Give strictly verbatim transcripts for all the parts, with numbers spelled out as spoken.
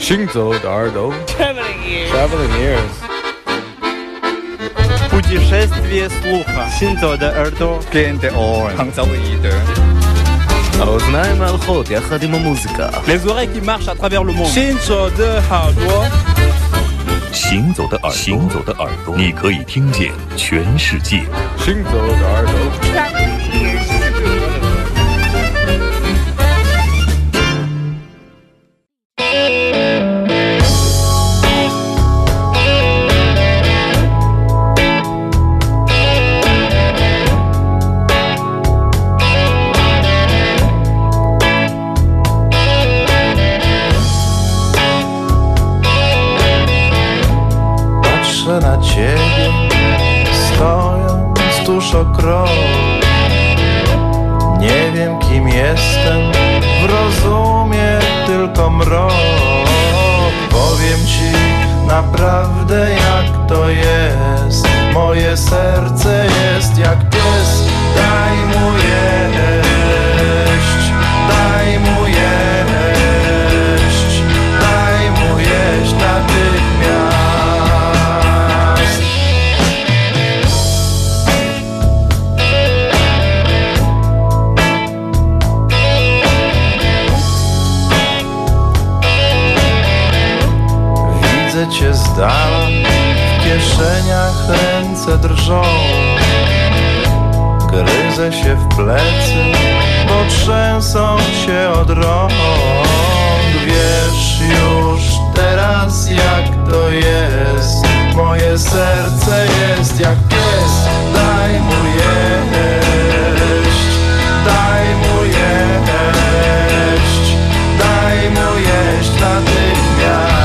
行走的耳朵 Traveling ears. Traveling ears. Путешествие слуха. Синзо де Эрдо. Клиенты Оуэн. Hangzhou-Yide. האוזניים הלכות יחד עם המוזיקה. Les oreilles qui marchent à travers le monde. Shinzo de Haoduo. 行走的耳朵，行走的耳朵，你可以听见全世界。 行走的耳朵 Traveling ears. Patrzę na ciebie, stojąc tuż o krok. Nie wiem, kim jestem, w rozumie tylko mrok. Powiem ci naprawdę, jak to jest. Moje serce jest jak pies. Daj mu jeść, daj mu jeść, daj mu jeść natychmiast. Widzę cię z dala, w kieszeniach ręce drżą. Gryzę się w plecy, bo trzęsą się od rąk. Wiesz już teraz, jak to jest. Moje serce jest jak pies. Daj mu jeść, daj mu jeść, daj mu jeść natychmiast.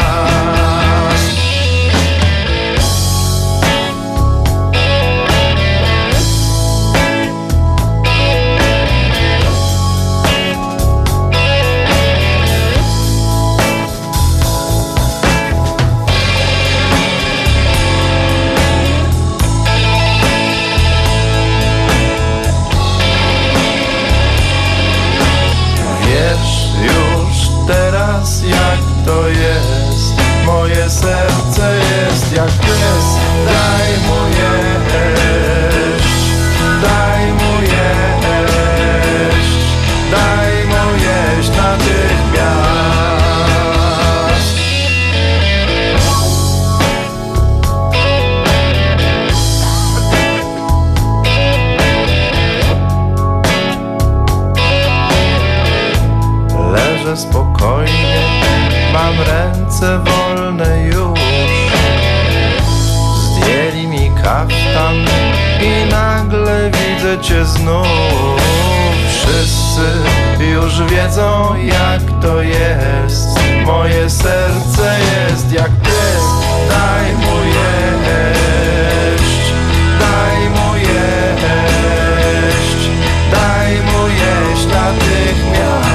Teraz jak to jest, moje serce jest jak pies. Daj mu jeść, daj mu jeść, daj mu jeść natychmiast. Leżę spokojnie, mam ręce wolne już. Zdjęli mi kaftan i nagle widzę cię znów. Wszyscy już wiedzą, jak to jest. Moje serce jest jak pies. Daj mu jeść, daj mu jeść, daj mu jeść natychmiast.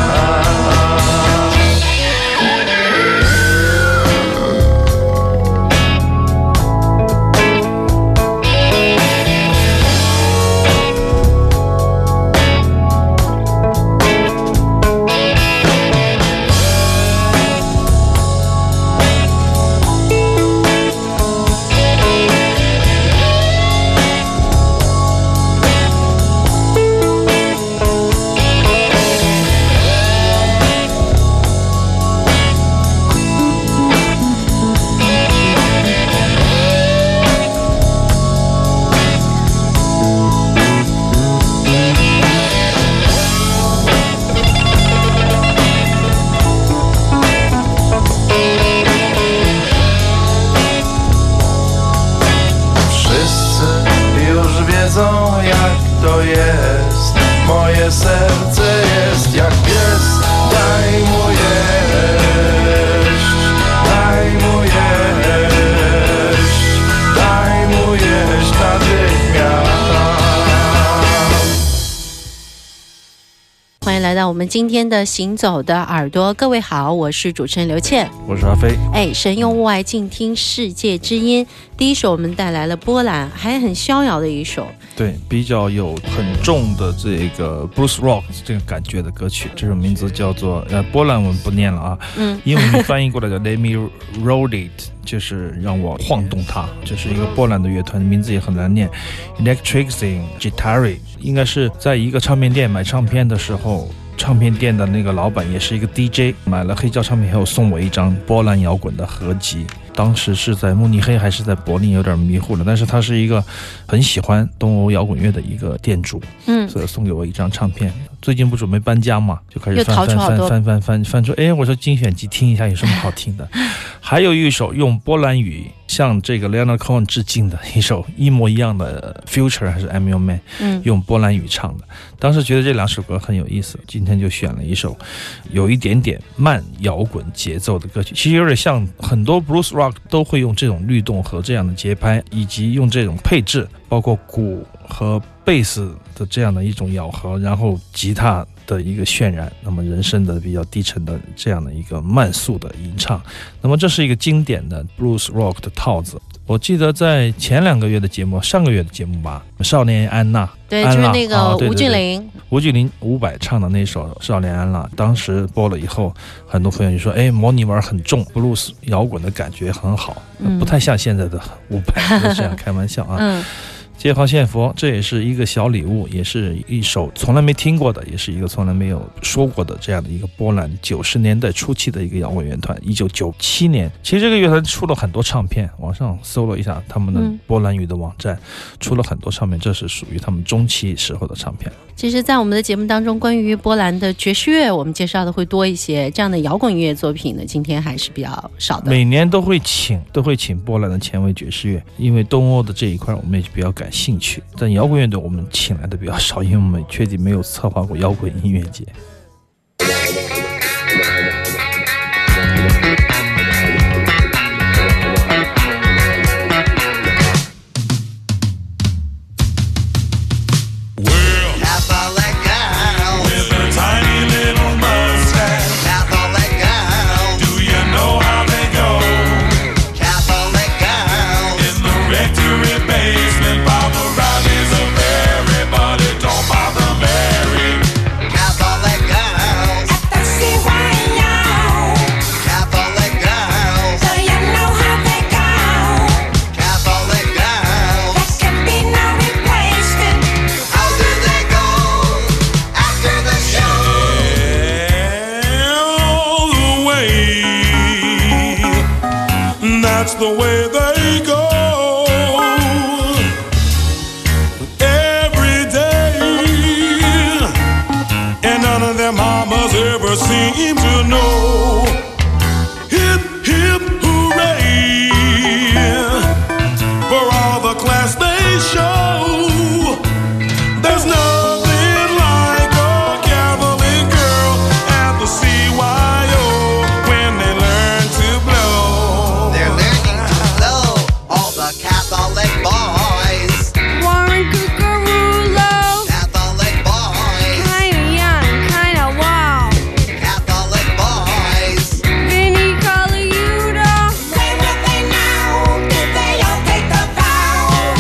们今天的行走的耳朵。各位好，我是主持人刘倩， 我是阿飞。 哎，神用物外静听世界之音。第一首我们带来了波兰，还很逍遥的一首， 对，比较有很重的这个 blues rock 这个感觉的歌曲。这首名字叫做呃波兰文不念了啊，嗯，英文翻译过来叫 Let Me Roll It， 就是让我晃动它。这是一个波兰的乐团，名字也很难念 ，Electric Guitar， 应该是在一个唱片店买唱片的时候。唱片店的那个老板也是一个 D J， 买了黑胶唱片以后送我一张波兰摇滚的合集，当时是在慕尼黑还是在柏林有点迷糊了，但是他是一个很喜欢东欧摇滚乐的一个店主，嗯，所以送给我一张唱片。最近不准备搬家嘛，就开始翻翻翻翻翻翻翻出，哎，我说精选集听一下有什么好听的。还有一首用波兰语向这个 Leonard Cohen 致敬的一首一模一样的 Future 还是 I'm Your Man， 嗯，用波兰语唱的。当时觉得这两首歌很有意思，今天就选了一首有一点点慢摇滚节奏的歌曲，其实有点像很多 blues rock 都会用这种律动和这样的节拍，以及用这种配置，包括鼓和贝斯的这样的一种咬合，然后吉他的一个渲染，那么人声的比较低沉的这样的一个慢速的吟唱，那么这是一个经典的 blues rock 的套子。我记得在前两个月的节目，上个月的节目吧，少年安娜， 对，就是那个吴俊霖， 吴俊霖伍佰唱的那首少年安娜，当时播了以后，很多朋友就说，哎，模拟味很重， blues 摇滚的感觉很好，嗯、不太像现在的伍佰，这样开玩笑啊。嗯，接好献佛，这也是一个小礼物，也是一首从来没听过的，也是一个从来没有说过的这样的一个波兰九十年代初期的一个摇滚乐团。一九九七年，其实这个乐团出了很多唱片，网上搜了一下他们的波兰语的网站，嗯、出了很多唱片，这是属于他们中期时候的唱片。 其实在我们的节目当中，关于波兰的爵士乐我们介绍的会多一些，这样的摇滚乐作品呢，今天还是比较少的。 每年都会请都会请波兰的前卫爵士乐，因为东欧的这一块我们也比较感兴趣，但摇滚乐队我们请来的比较少，因为我们确定没有策划过摇滚音乐节。 That's the way they go every day, and none of their mamas ever seem to know. Hip, hip, hooray for all the class they show. There's nothing like a Catholic girl at the C Y O when they learn to blow. They're learning to blow, all the Catholic boys. Warren Cucarulo. Catholic boys. Kinda young, kinda wild. Catholic boys. Vinny Colaiuta. When will they know? Did they all take the vow?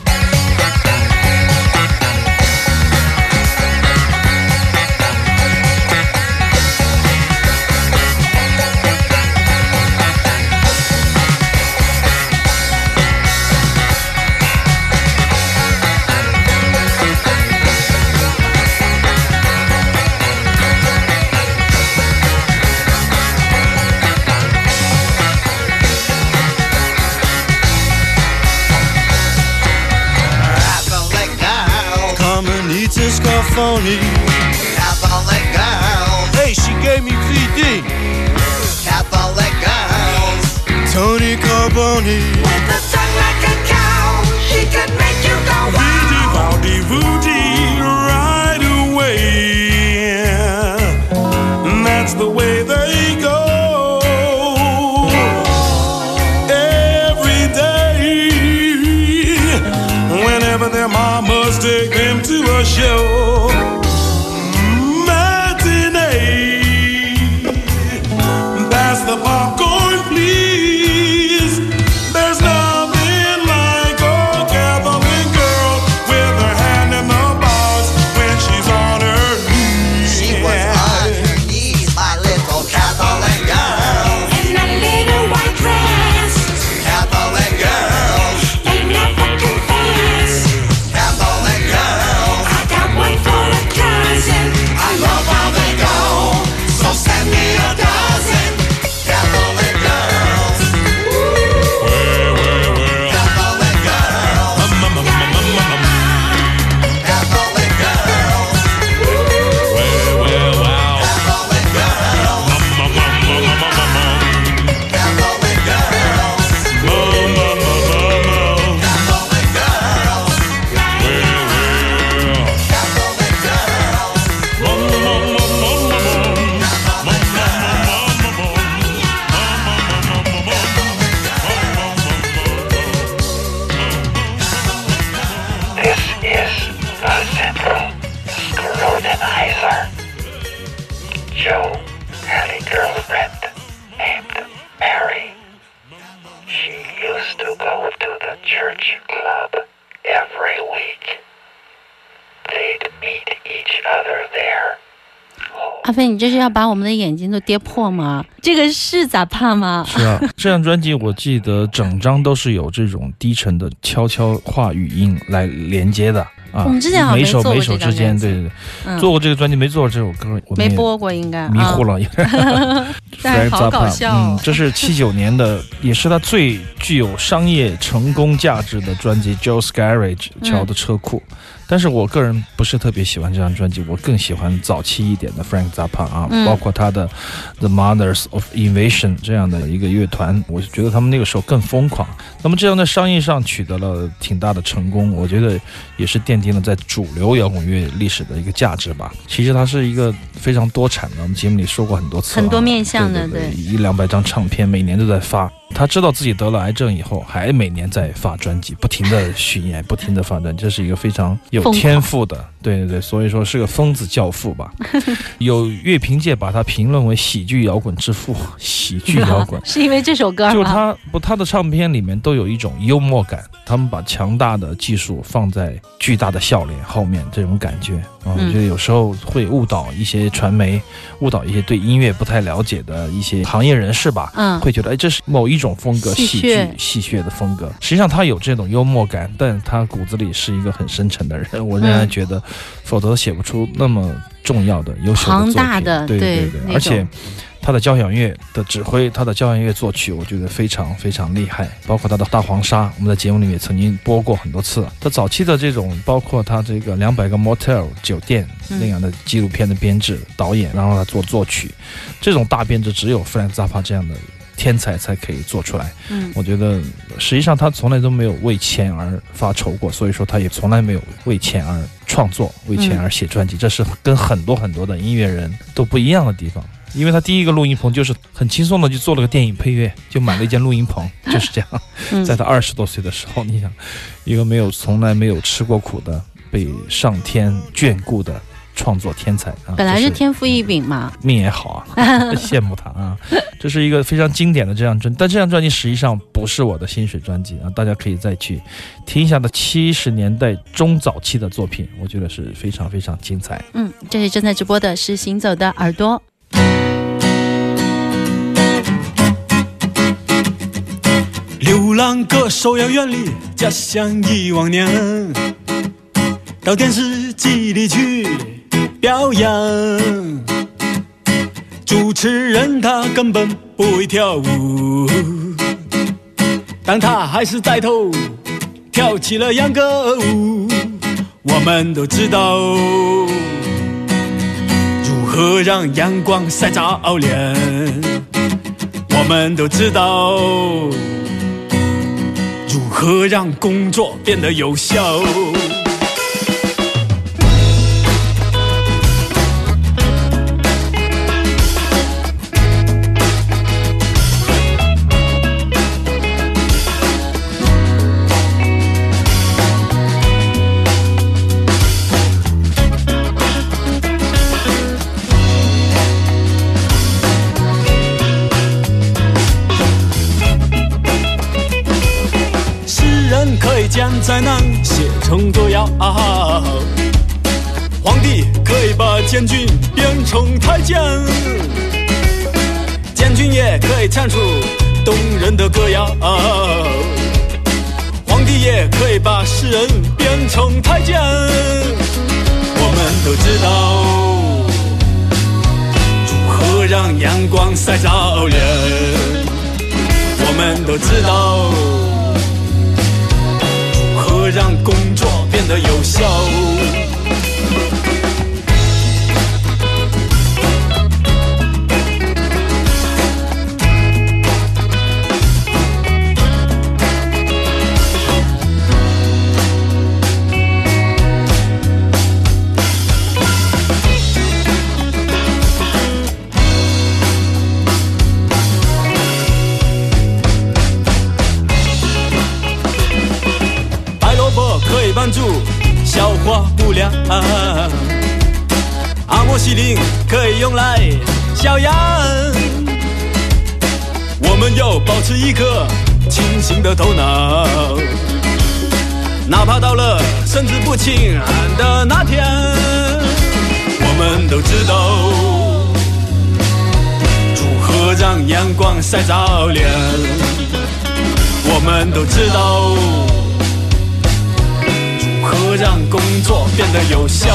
Catholic girls. Carmenita Scarfoni. Catholic girls. Hey, she gave me V D. Catholic girls. Tony Carboni. With a tongue like a cow, she could make you go wow. Woody, woody, right away. And that's the way they go. Every day, whenever their mamas take them to a show. Matinee. French club every week. They'd meet each other there. 阿飞，你这是要把我们的眼睛都跌破吗？这个是咋怕吗？ 是啊，这张专辑我记得整张都是有这种低沉的悄悄话语音来连接的啊。 我们之前好像没做过每首每首之间，对对对，嗯、做过这个专辑没做过这首歌，我没播过，应该迷糊了。 啊、但好搞笑、哦。 嗯，这是七九年的，也是他最具有商业成功价值的专辑《Joe's Garage》乔的车库。嗯，但是我个人不是特别喜欢这张专辑，我更喜欢早期一点的 Frank Zappa 啊、嗯，包括他的 The Mothers of Invasion 这样的一个乐团，我觉得他们那个时候更疯狂。那么这样在商业上取得了挺大的成功，我觉得也是奠定了在主流摇滚乐历史的一个价值吧。其实它是一个非常多产的，我们节目里说过很多次、啊， 很多面向的， 对对对，一两百张唱片，每年都在发。他知道自己得了癌症以后，还每年在发专辑，不停的巡演，不停的发专辑，这是一个非常有天赋的，对对对，所以说是个疯子教父吧。有乐评界把他评论为喜剧摇滚之父，喜剧摇滚是因为这首歌吗？ 就他不，他的唱片里面都有一种幽默感，他们把强大的技术放在巨大的笑脸后面，这种感觉啊，我觉得有时候会误导一些传媒，误导一些对音乐不太了解的一些行业人士吧，嗯，会觉得哎，这是某一种风格，喜剧戏谑的风格。实际上他有这种幽默感，但他骨子里是一个很深沉的人，我仍然觉得，否则写不出那么重要的优秀的作品， 庞大的， 对对对，而且他的交响乐的指挥，他的交响乐作曲，我觉得非常非常厉害。包括他的大黄鲨，我们在节目里面曾经播过很多次。他早期的这种，包括他这个两百个 motel 酒店那样的纪录片的编制、导演，然后他做作曲，这种大编制只有 Frank Zappa 这样的天才才可以做出来。嗯，我觉得实际上他从来都没有为钱而发愁过，所以说他也从来没有为钱而创作，为钱而写专辑，嗯，这是跟很多很多的音乐人都不一样的地方。因为他第一个录音棚就是很轻松的就做了个电影配乐，就买了一间录音棚，就是这样。嗯，在他二十多岁的时候，你想，一个没有从来没有吃过苦的，被上天眷顾的创作天才啊， 本来是天赋异禀嘛， 命也好啊，羡慕他啊。这是一个非常经典的这张专辑，但这张专辑实际上不是我的薪水专辑啊，大家可以再去听一下的七十年代中早期的作品，我觉得是非常非常精彩。 嗯，这里正在直播的是行走的耳朵。 流浪歌手要远离家乡一万年，到电视机里去表演。主持人他根本不会跳舞，但他还是带头跳起了秧歌舞。我们都知道如何让阳光晒着脸，我们都知道如何让工作变得有效。将灾难写成歌谣，皇帝可以把监军变成太监，监军也可以唱出动人的歌谣，皇帝也可以把诗人变成太监。我们都知道如何让阳光晒着脸，我们都知道让工作变得有效。帮助消化不良，阿莫西林可以用来消炎。我们要保持一颗清醒的头脑， 哪怕到了神志不清的那天，我们都知道如何让阳光晒着脸，我们都知道如何让工作变得有效。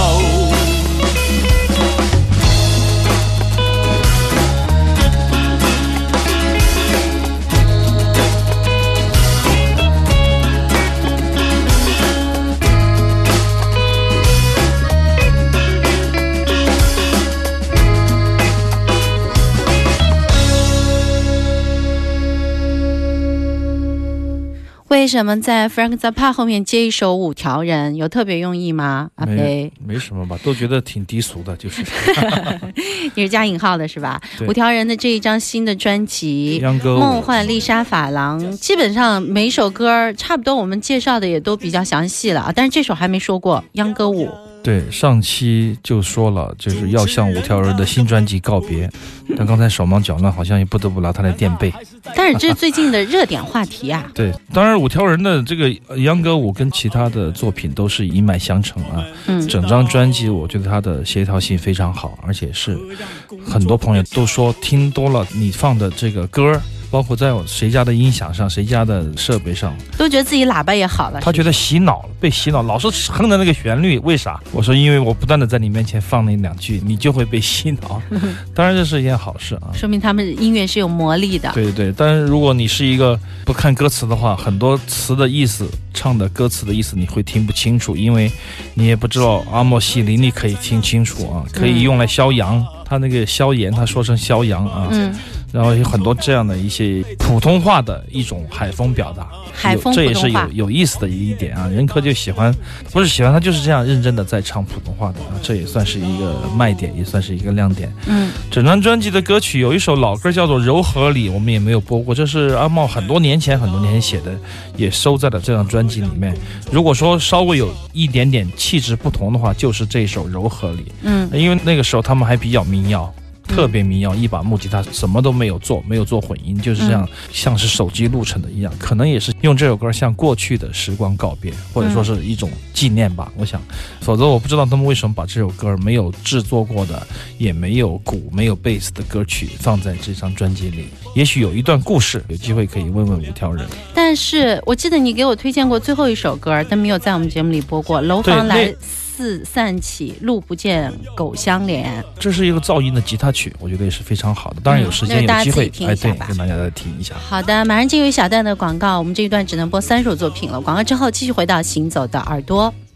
为什么在 Frank Zappa 后面接一首五条人，有特别用意吗？阿飞， 没什么吧，都觉得挺低俗的，就是你是加引号的是吧？五条人的这一张新的专辑《梦幻丽莎法郎》，基本上每一首歌差不多我们介绍的也都比较详细了啊，但是这首还没说过《秧歌舞》。 对，上期就说了，就是要向五条人的新专辑告别，但刚才手忙脚乱，好像也不得不拿他来垫背。 但是这是最近的热点话题啊。 对，当然五条人的这个秧歌舞跟其他的作品都是一脉相承啊。嗯，整张专辑我觉得它的协调性非常好，而且是很多朋友都说听多了你放的这个歌，包括在谁家的音响上，谁家的设备上， 都觉得自己喇叭也好了。 他觉得洗脑了，被洗脑，老是哼的那个旋律，为啥？我说因为我不断的在你面前放那两句，你就会被洗脑。当然这是一件好事啊， 说明他们音乐是有魔力的。 对对，但是如果你是一个不看歌词的话，很多词的意思，唱的歌词的意思你会听不清楚，因为你也不知道阿莫西林，你可以听清楚啊，可以用来消阳。嗯，他那个消炎，他说成消阳啊。嗯。然后有很多这样的一些普通话的一种海风表达， 海风这也是有有意思的一点啊。任科就喜欢，不是喜欢，他就是这样认真的在唱普通话的啊，这也算是一个卖点，也算是一个亮点。嗯，整张专辑的歌曲有一首老歌叫做《柔和里》，我们也没有播过，这是阿茂很多年前很多年前写的，也收在了这张专辑里面。如果说稍微有一点点气质不同的话，就是这首《柔和里》。嗯，因为那个时候他们还比较民谣。特别民谣，一把木吉他，什么都没有做，没有做混音，就是这样，嗯，像是手机录成的一样，可能也是用这首歌向过去的时光告别，或者说是一种纪念吧，嗯，我想，否则我不知道他们为什么把这首歌没有制作过的，也没有鼓，没有贝斯的歌曲放在这张专辑里，也许有一段故事，有机会可以问问五条人。 但是我记得你给我推荐过最后一首歌，但没有在我们节目里播过，楼房来四散起，路不见狗相连， 这是一个噪音的吉他曲，我觉得也是非常好的。当然有时间、嗯、有机会，哎，对，跟大家再听一下。 好的，马上进入小段的广告，我们这一段只能播三首作品了。广告之后继续回到行走的耳朵。